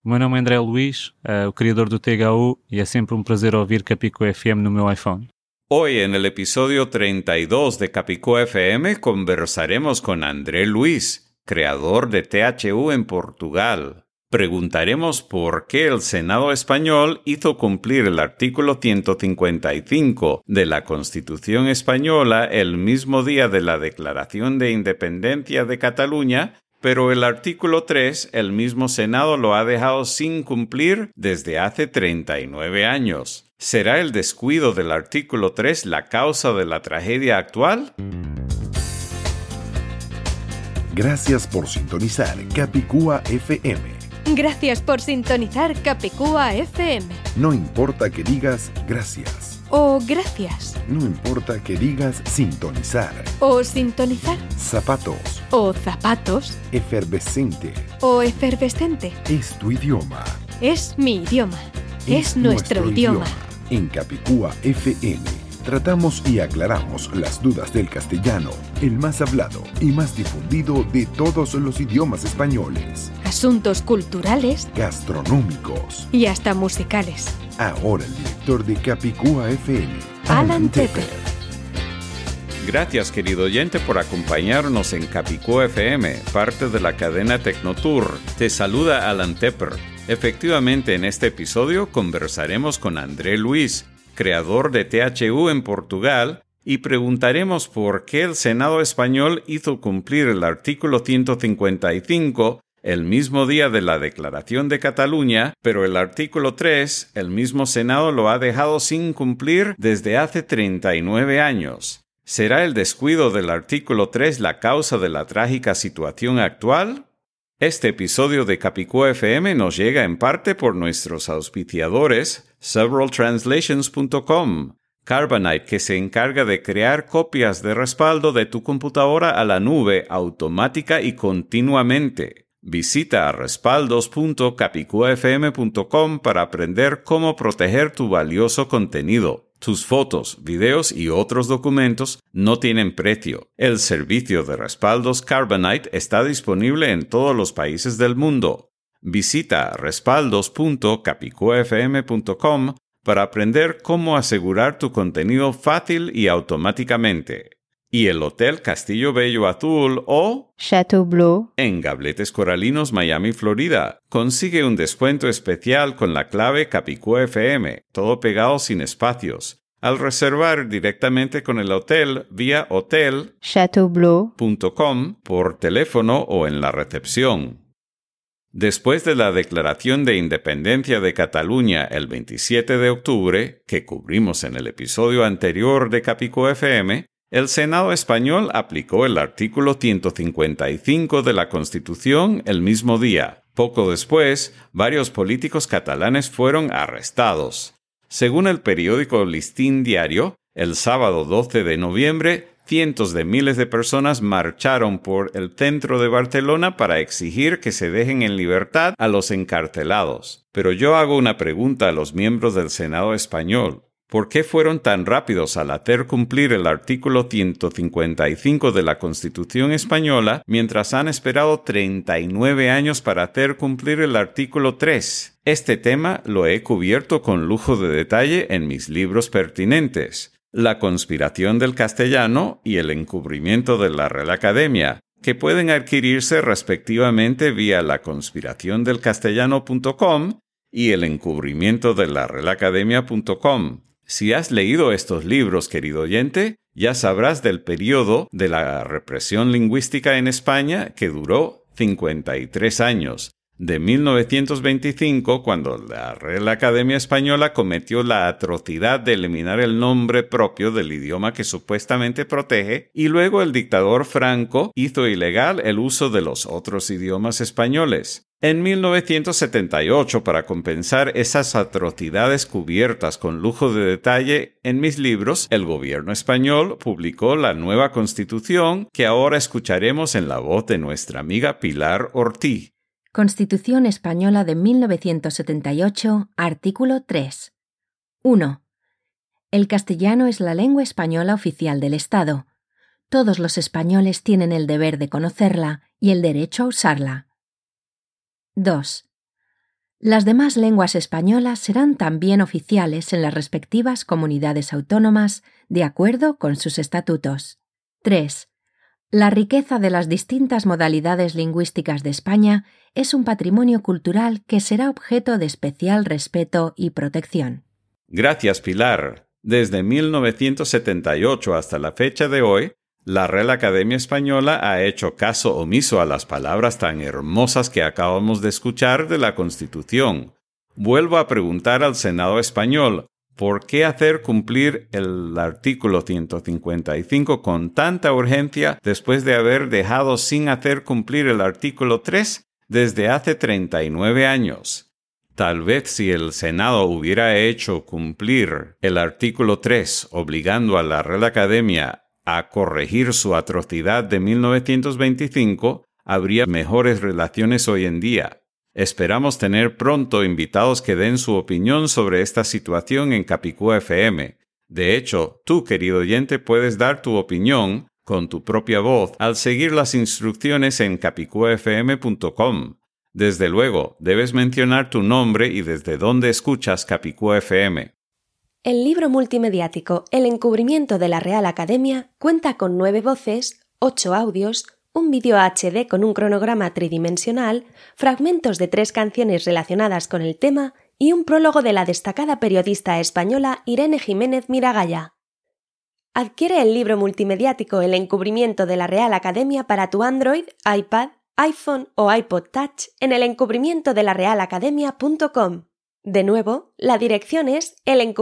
O meu nome é André Luís, o criador do THU, e é sempre um prazer ouvir Capicua FM no meu iPhone. Hoy en el episodio 32 de Capicua FM conversaremos con André Luís, creador de THU en Portugal. Preguntaremos por qué el Senado español hizo cumplir el artículo 155 de la Constitución española el mismo día de la Declaración de Independencia de Cataluña, pero el artículo 3 el mismo Senado lo ha dejado sin cumplir desde hace 39 años. ¿Será el descuido del artículo 3 la causa de la tragedia actual? Gracias por sintonizar Capicua FM. Gracias por sintonizar Capicua FM. No importa que digas gracias. O gracias. No importa que digas sintonizar. O sintonizar. Zapatos. O zapatos. Efervescente. O efervescente. Es tu idioma. Es mi idioma. Es nuestro idioma. En Capicua FM tratamos y aclaramos las dudas del castellano, el más hablado y más difundido de todos los idiomas españoles. Asuntos culturales. Gastronómicos. Y hasta musicales. Ahora el director de Capicua FM, Alan Tepper. Gracias, querido oyente, por acompañarnos en Capicua FM, parte de la cadena Tecnotour. Te saluda Alan Tepper. Efectivamente, en este episodio conversaremos con André Luís, creador de THU en Portugal, y preguntaremos por qué el Senado español hizo cumplir el artículo 155 el mismo día de la Declaración de Cataluña, pero el artículo 3 el mismo Senado lo ha dejado sin cumplir desde hace 39 años. ¿Será el descuido del artículo 3 la causa de la trágica situación actual? Este episodio de Capicua FM nos llega en parte por nuestros auspiciadores, severaltranslations.com, Carbonite, que se encarga de crear copias de respaldo de tu computadora a la nube automática y continuamente. Visita a respaldos.capicuafm.com para aprender cómo proteger tu valioso contenido. Tus fotos, videos y otros documentos no tienen precio. El servicio de respaldos Carbonite está disponible en todos los países del mundo. Visita respaldos.capicuafm.com para aprender cómo asegurar tu contenido fácil y automáticamente. Y el Hotel Castillo Bello Azul o Chateau Bleu en Gabletes Coralinos, Miami, Florida. Consigue un descuento especial con la clave Capicua FM, todo pegado sin espacios, al reservar directamente con el hotel vía hotel.chateaubleu.com por teléfono o en la recepción. Después de la Declaración de Independencia de Cataluña el 27 de octubre, que cubrimos en el episodio anterior de Capicua FM, el Senado español aplicó el artículo 155 de la Constitución el mismo día. Poco después, varios políticos catalanes fueron arrestados. Según el periódico Listín Diario, el sábado 12 de noviembre, cientos de miles de personas marcharon por el centro de Barcelona para exigir que se dejen en libertad a los encarcelados. Pero yo hago una pregunta a los miembros del Senado español. ¿Por qué fueron tan rápidos al hacer cumplir el artículo 155 de la Constitución española mientras han esperado 39 años para hacer cumplir el artículo 3? Este tema lo he cubierto con lujo de detalle en mis libros pertinentes: La conspiración del castellano y El encubrimiento de la Real Academia, que pueden adquirirse respectivamente vía laconspiraciondelcastellano.com y El encubrimiento de la Real Academia.com. Si has leído estos libros, querido oyente, ya sabrás del periodo de la represión lingüística en España, que duró 53 años, de 1925, cuando la Real Academia Española cometió la atrocidad de eliminar el nombre propio del idioma que supuestamente protege, y luego el dictador Franco hizo ilegal el uso de los otros idiomas españoles. En 1978, para compensar esas atrocidades cubiertas con lujo de detalle en mis libros, el gobierno español publicó la nueva Constitución, que ahora escucharemos en la voz de nuestra amiga Pilar Ortiz. Constitución Española de 1978, artículo 3. 1. El castellano es la lengua española oficial del Estado. Todos los españoles tienen el deber de conocerla y el derecho a usarla. 2. Las demás lenguas españolas serán también oficiales en las respectivas comunidades autónomas, de acuerdo con sus estatutos. 3. La riqueza de las distintas modalidades lingüísticas de España es un patrimonio cultural que será objeto de especial respeto y protección. Gracias, Pilar. Desde 1978 hasta la fecha de hoy, la Real Academia Española ha hecho caso omiso a las palabras tan hermosas que acabamos de escuchar de la Constitución. Vuelvo a preguntar al Senado español, ¿por qué hacer cumplir el artículo 155 con tanta urgencia después de haber dejado sin hacer cumplir el artículo 3 desde hace 39 años? Tal vez si el Senado hubiera hecho cumplir el artículo 3 obligando a la Real Academia a corregir su atrocidad de 1925, habría mejores relaciones hoy en día. Esperamos tener pronto invitados que den su opinión sobre esta situación en Capicúa FM. De hecho, tú, querido oyente, puedes dar tu opinión con tu propia voz al seguir las instrucciones en capicuafm.com. Desde luego, debes mencionar tu nombre y desde dónde escuchas Capicúa FM. El libro multimediático El encubrimiento de la Real Academia cuenta con 9 voces, 8 audios, un vídeo HD con un cronograma tridimensional, fragmentos de 3 canciones relacionadas con el tema y un prólogo de la destacada periodista española Irene Jiménez Miragaya. Adquiere el libro multimediático El encubrimiento de la Real Academia para tu Android, iPad, iPhone o iPod Touch en elencubrimientodelarealacademia.com. De nuevo, la dirección es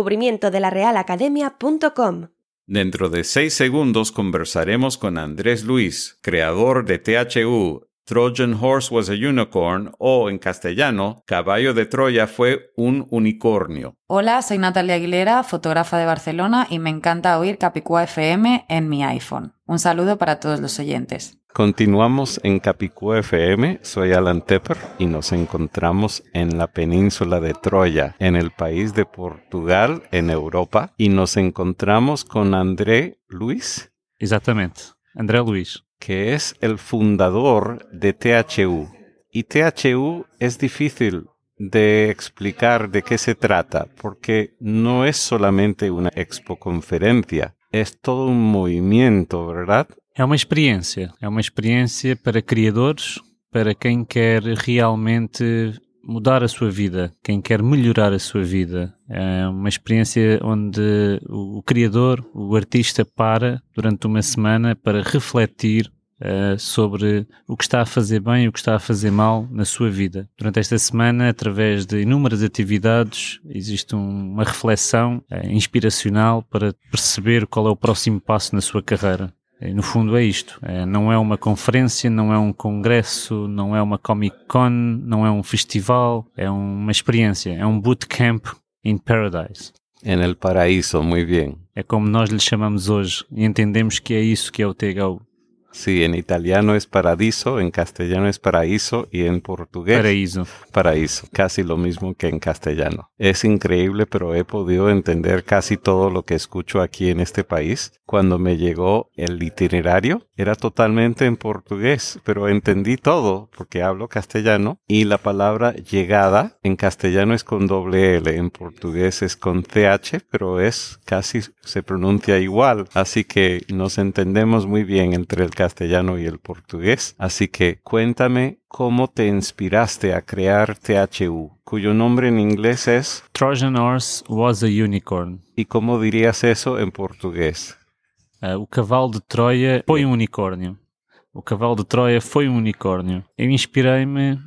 elencubrimientodelarealacademia.com. Dentro de 6 segundos conversaremos con Andrés Luis, creador de THU, Trojan Horse was a Unicorn, o en castellano, Caballo de Troya fue un unicornio. Hola, soy Natalia Aguilera, fotógrafa de Barcelona, y me encanta oír Capicúa FM en mi iPhone. Un saludo para todos los oyentes. Continuamos en Capicúa FM, soy Alan Tepper y nos encontramos en la península de Troya, en el país de Portugal, en Europa, y nos encontramos con André Luis. Exatamente, André Luis. Que es el fundador de THU. Y THU es difícil de explicar de qué se trata, porque no es solamente una expoconferencia, es todo un movimiento, ¿verdad? É uma experiência para criadores, para quem quer realmente mudar a sua vida, quem quer melhorar a sua vida. É uma experiência onde o criador, o artista, para durante uma semana para refletir sobre o que está a fazer bem e o que está a fazer mal na sua vida. Durante esta semana, através de inúmeras atividades, existe uma reflexão inspiracional para perceber qual é o próximo passo na sua carreira. E, no fundo é isto, não é uma conferência, não é um congresso, não é uma Comic Con, não é um festival, é uma experiência, é um bootcamp in paradise. En el paraíso, muy bien. É como nós lhe chamamos hoje e entendemos que é isso que é o THU. Sí, en italiano es paradiso, en castellano es paraíso y en portugués paraíso. Paraíso, casi lo mismo que en castellano. Es increíble, pero he podido entender casi todo lo que escucho aquí en este país. Cuando me llegó el itinerario, era totalmente en portugués, pero entendí todo porque hablo castellano y la palabra llegada en castellano es con doble L, en portugués es con CH, pero es casi se pronuncia igual, así que nos entendemos muy bien entre el castellano y el portugués. Así que cuéntame cómo te inspiraste a crear THU, cuyo nombre en inglés es Trojan Horse was a Unicorn. ¿Y cómo dirías eso en portugués? O cavalo de Troia foi unicórnio. O cavalo de Troia foi unicórnio. Eu inspirei-me,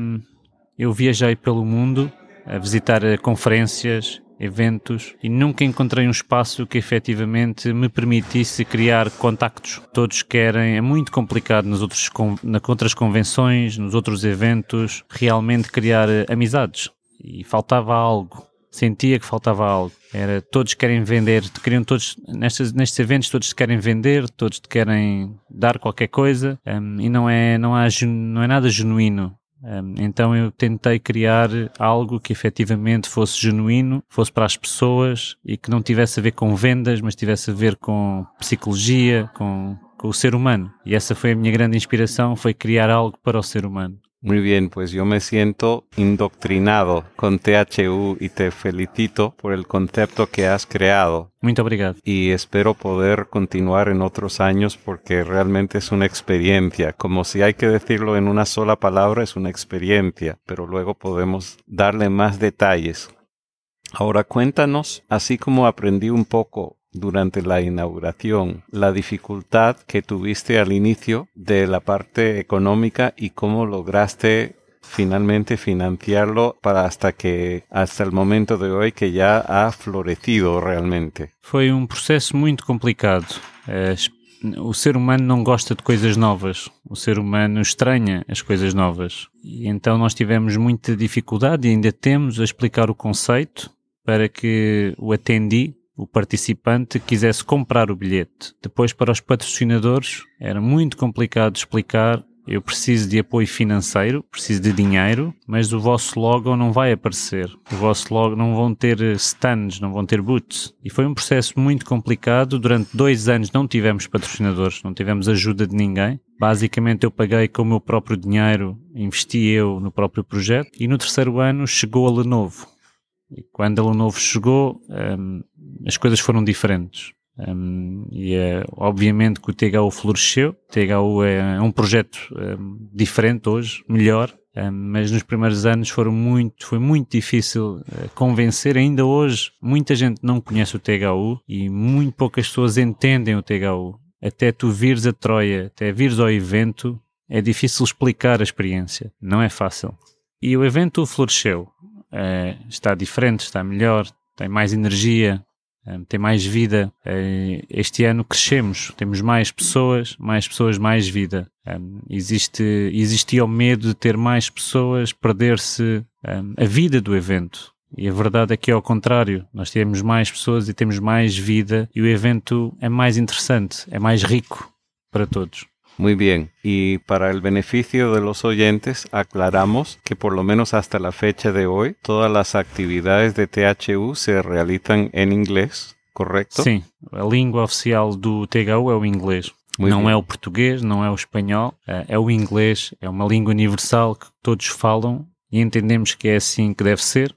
eu viajei pelo mundo a visitar conferências, eventos, e nunca encontrei um espaço que efetivamente me permitisse criar contactos. Todos querem, é muito complicado nas outras convenções, nos outros eventos, realmente criar amizades. E faltava algo. Sentia que faltava algo. Todos querem vender, queriam todos, nestes eventos todos querem vender, todos te querem dar qualquer coisa, e não é nada genuíno. Então eu tentei criar algo que efetivamente fosse genuíno, fosse para as pessoas e que não tivesse a ver com vendas, mas tivesse a ver com psicologia, com o ser humano. E essa foi a minha grande inspiração, foi criar algo para o ser humano. Muy bien, pues yo me siento indoctrinado con THU y te felicito por el concepto que has creado. Muito obrigado. Y espero poder continuar en otros años porque realmente es una experiencia. Como si hay que decirlo en una sola palabra, es una experiencia, pero luego podemos darle más detalles. Ahora cuéntanos, así como aprendí un poco durante la inauguración, la dificultad que tuviste al inicio de la parte económica y cómo lograste finalmente financiarlo para hasta el momento de hoy que ya ha florecido realmente. Foi um processo muito complicado. O ser humano não gosta de coisas novas. O ser humano estranha as coisas novas. E então nós tivemos muita dificuldade e ainda temos a explicar o conceito para que o attendee, o participante, quisesse comprar o bilhete. Depois, para os patrocinadores, era muito complicado explicar: eu preciso de apoio financeiro, preciso de dinheiro, mas o vosso logo não vai aparecer. O vosso logo não vão ter stands, não vão ter booths. E foi um processo muito complicado. Durante 2 anos não tivemos patrocinadores, não tivemos ajuda de ninguém. Basicamente eu paguei com o meu próprio dinheiro, investi eu no próprio projeto. E no 3º ano chegou a Lenovo. E quando a Lenovo chegou, as coisas foram diferentes. Obviamente que o THU floresceu. O THU é um projeto diferente hoje, melhor, mas nos primeiros anos foi muito difícil convencer. Ainda hoje muita gente não conhece o THU e muito poucas pessoas entendem o THU. Até tu vires a Troia, até vires ao evento, é difícil explicar a experiência, não é fácil. E o evento floresceu. Está diferente, está melhor, tem mais energia, tem mais vida. Este ano crescemos, temos mais pessoas, mais vida. Existia o medo de ter mais pessoas, perder-se a vida do evento. E a verdade é que é ao contrário, nós temos mais pessoas e temos mais vida e o evento é mais interessante, é mais rico para todos. Muy bien, y para el beneficio de los oyentes aclaramos que por lo menos hasta la fecha de hoy todas las actividades de THU se realizan en inglés, ¿correcto? Sim, a língua oficial do THU é o inglês. Não é o português, não é o espanhol, é o inglês, é uma língua universal que todos falam e entendemos que é assim que deve ser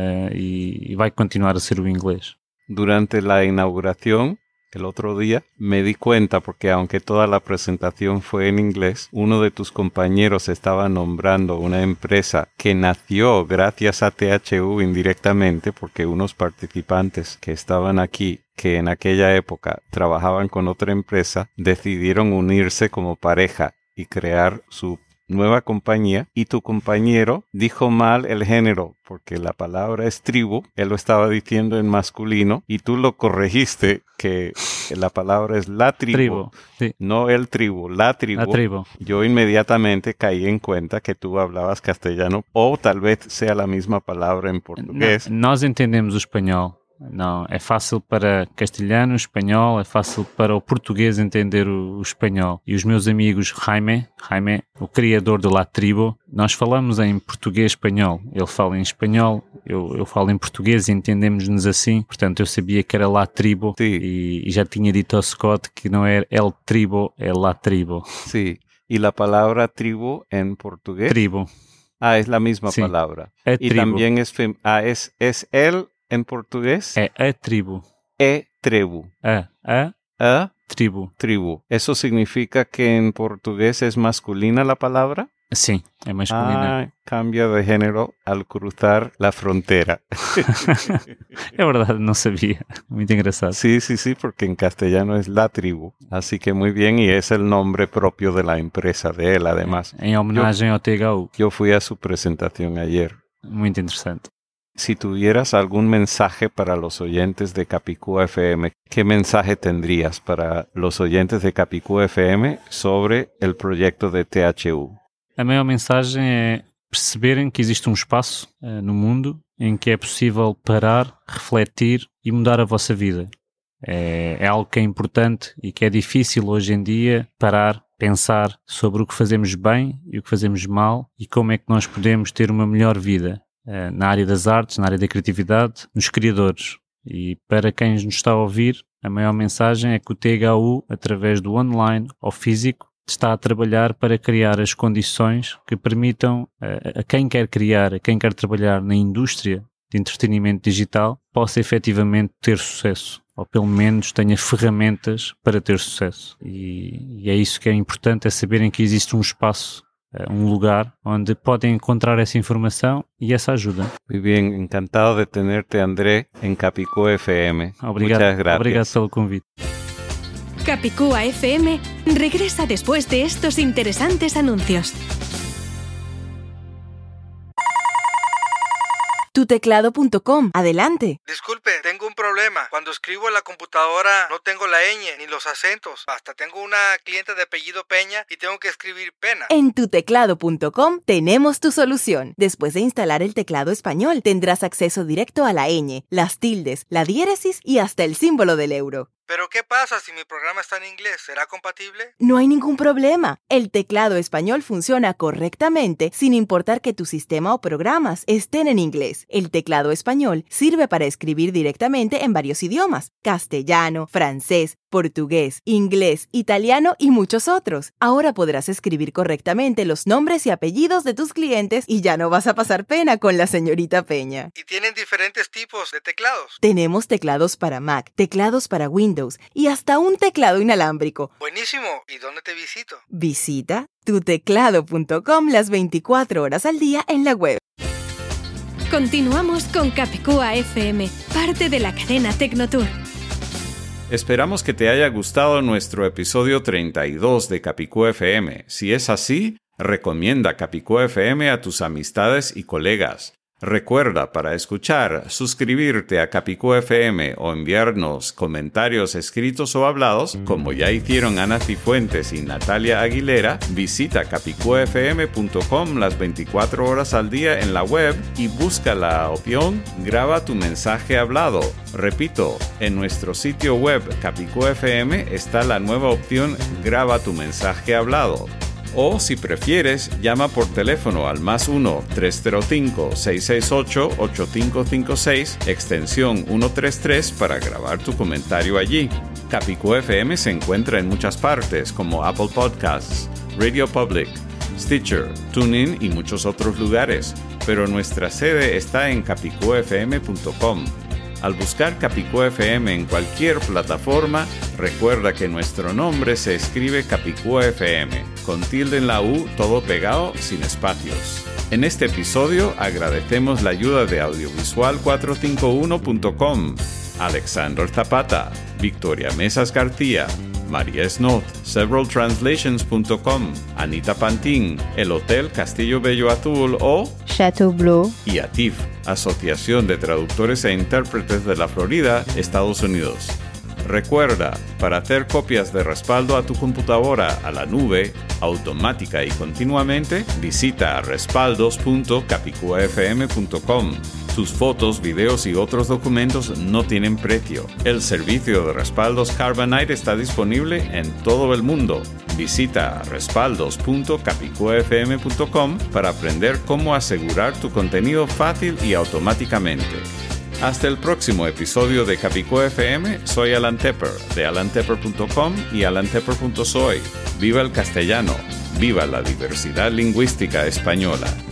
e vai continuar a ser o inglés. Durante la inauguración, el otro día me di cuenta porque aunque toda la presentación fue en inglés, uno de tus compañeros estaba nombrando una empresa que nació gracias a THU indirectamente porque unos participantes que estaban aquí, que en aquella época trabajaban con otra empresa, decidieron unirse como pareja y crear su nueva compañía, y tu compañero dijo mal el género porque la palabra es tribu, él lo estaba diciendo en masculino y tú lo corregiste que la palabra es la tribu, sí. No el tribu, la tribu. La tribu. Yo inmediatamente caí en cuenta que tú hablabas castellano o tal vez sea la misma palabra en portugués. Nós entendemos o espanhol. Não, é fácil para castelhano, espanhol, é fácil para o português entender o espanhol. E os meus amigos Jaime, o criador de La Tribu, nós falamos em português espanhol. Ele fala em espanhol, eu falo em português e entendemos-nos assim. Portanto, eu sabia que era La Tribu e já tinha dito ao Scott que não é El Tribu, é La Tribu. Sí, y la palabra tribu en portugués. Tribu. Ah, es la misma sí. palabra. É y tribu. También es el en portugués. É a tribo. Tribu. A tribu. Tribu. ¿Eso significa que en portugués es masculina la palabra? Sim, é masculina. Cambia de género al cruzar la frontera. É verdade, não sabia. Muito engraçado. Sí, porque en castellano es La Tribu. Así que muy bien, y es el nombre propio de la empresa de él, además. Em homenagem ao THU. Yo fui a su presentación ayer. Muito interessante. Si tuvieras algún mensaje para los oyentes de Capicúa FM, ¿qué mensaje tendrías para los oyentes de Capicúa FM sobre el proyecto de THU? A maior mensagem é perceberem que existe um espaço no mundo em que é possível parar, refletir e mudar a vossa vida. É algo que é importante e que é difícil hoje em dia parar, pensar sobre o que fazemos bem e o que fazemos mal e como é que nós podemos ter uma melhor vida na área das artes, na área da criatividade, nos criadores. E para quem nos está a ouvir, a maior mensagem é que o THU, através do online ou físico, está a trabalhar para criar as condições que permitam a quem quer criar, a quem quer trabalhar na indústria de entretenimento digital, possa efetivamente ter sucesso, ou pelo menos tenha ferramentas para ter sucesso. E é isso que é importante, é saberem que existe um espaço, um lugar onde podem encontrar essa informação e essa ajuda. Muy bien, encantado de tenerte, André, en Capicúa FM. Obrigado, Muchas gracias. obrigado pelo convite. Capicúa FM regresa después de estos interesantes anuncios. Tuteclado.com. Adelante. Disculpe, tengo un problema. Cuando escribo en la computadora no tengo la ñ ni los acentos. Hasta tengo una cliente de apellido Peña y tengo que escribir Pena. En tuteclado.com tenemos tu solución. Después de instalar el teclado español, tendrás acceso directo a la ñ, las tildes, la diéresis y hasta el símbolo del euro. ¿Pero qué pasa si mi programa está en inglés? ¿Será compatible? No hay ningún problema. El teclado español funciona correctamente sin importar que tu sistema o programas estén en inglés. El teclado español sirve para escribir directamente en varios idiomas: castellano, francés, portugués, inglés, italiano y muchos otros. Ahora podrás escribir correctamente los nombres y apellidos de tus clientes y ya no vas a pasar pena con la señorita Peña. ¿Y tienen diferentes tipos de teclados? Tenemos teclados para Mac, teclados para Windows y hasta un teclado inalámbrico. Buenísimo. ¿Y dónde te visito? Visita tuteclado.com las 24 horas al día en la web. Continuamos con Capicúa FM, parte de la cadena Tecnotour. Esperamos que te haya gustado nuestro episodio 32 de Capicúa FM. Si es así, recomienda Capicúa FM a tus amistades y colegas. Recuerda, para escuchar, suscribirte a Capicúa FM o enviarnos comentarios escritos o hablados, como ya hicieron Ana Cifuentes y Natalia Aguilera. Visita capicuafm.com las 24 horas al día en la web y busca la opción Graba tu mensaje hablado. Repito, en nuestro sitio web Capicúa FM está la nueva opción Graba tu mensaje hablado. O, si prefieres, llama por teléfono al +1 305 668 8556, extensión 133, para grabar tu comentario allí. Capicúa FM se encuentra en muchas partes, como Apple Podcasts, Radio Public, Stitcher, TuneIn y muchos otros lugares, pero nuestra sede está en capicuafm.com. Al buscar Capicúa FM en cualquier plataforma, recuerda que nuestro nombre se escribe Capicúa FM, con tilde en la U, todo pegado, sin espacios. En este episodio agradecemos la ayuda de audiovisual451.com, Alexander Zapata, Victoria Mesas García, María Snot, severaltranslations.com, Anita Pantín, el Hotel Castillo Bello Azul o Chateau Bleu y ATIF, Asociación de Traductores e Intérpretes de la Florida, Estados Unidos. Recuerda, para hacer copias de respaldo a tu computadora a la nube, automática y continuamente, visita respaldos.capicuafm.com. Tus fotos, videos y otros documentos no tienen precio. El servicio de respaldos Carbonite está disponible en todo el mundo. Visita respaldos.capicuafm.com para aprender cómo asegurar tu contenido fácil y automáticamente. Hasta el próximo episodio de Capicúa FM, soy Alan Tepper, de alantepper.com y alantepper.soy. ¡Viva el castellano! ¡Viva la diversidad lingüística española!